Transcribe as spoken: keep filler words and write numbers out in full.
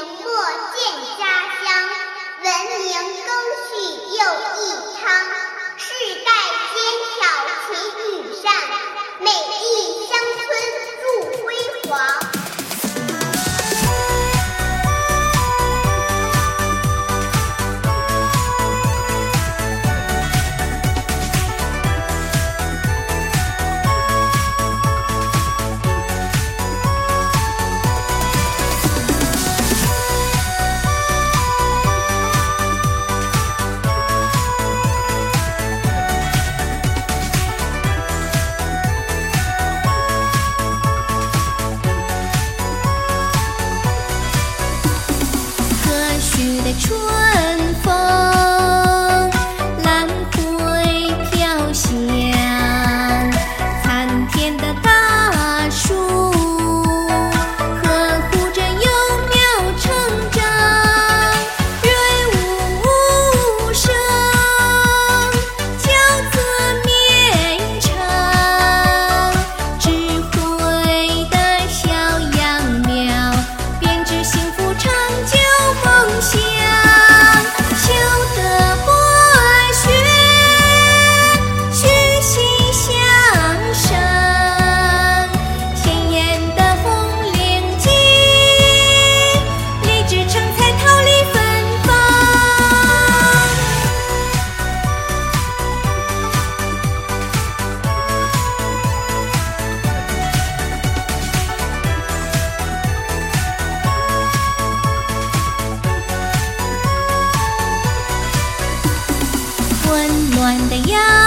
莫见家乡，文明更续又益昌。世代坚挑勤与善，美丽乡村祝辉煌。 春风，兰蕙飘香，参天的大树呵护着幼苗成长，润物无声，骄泽绵长，智慧的小杨苗，编织幸福长久梦想。温暖的阳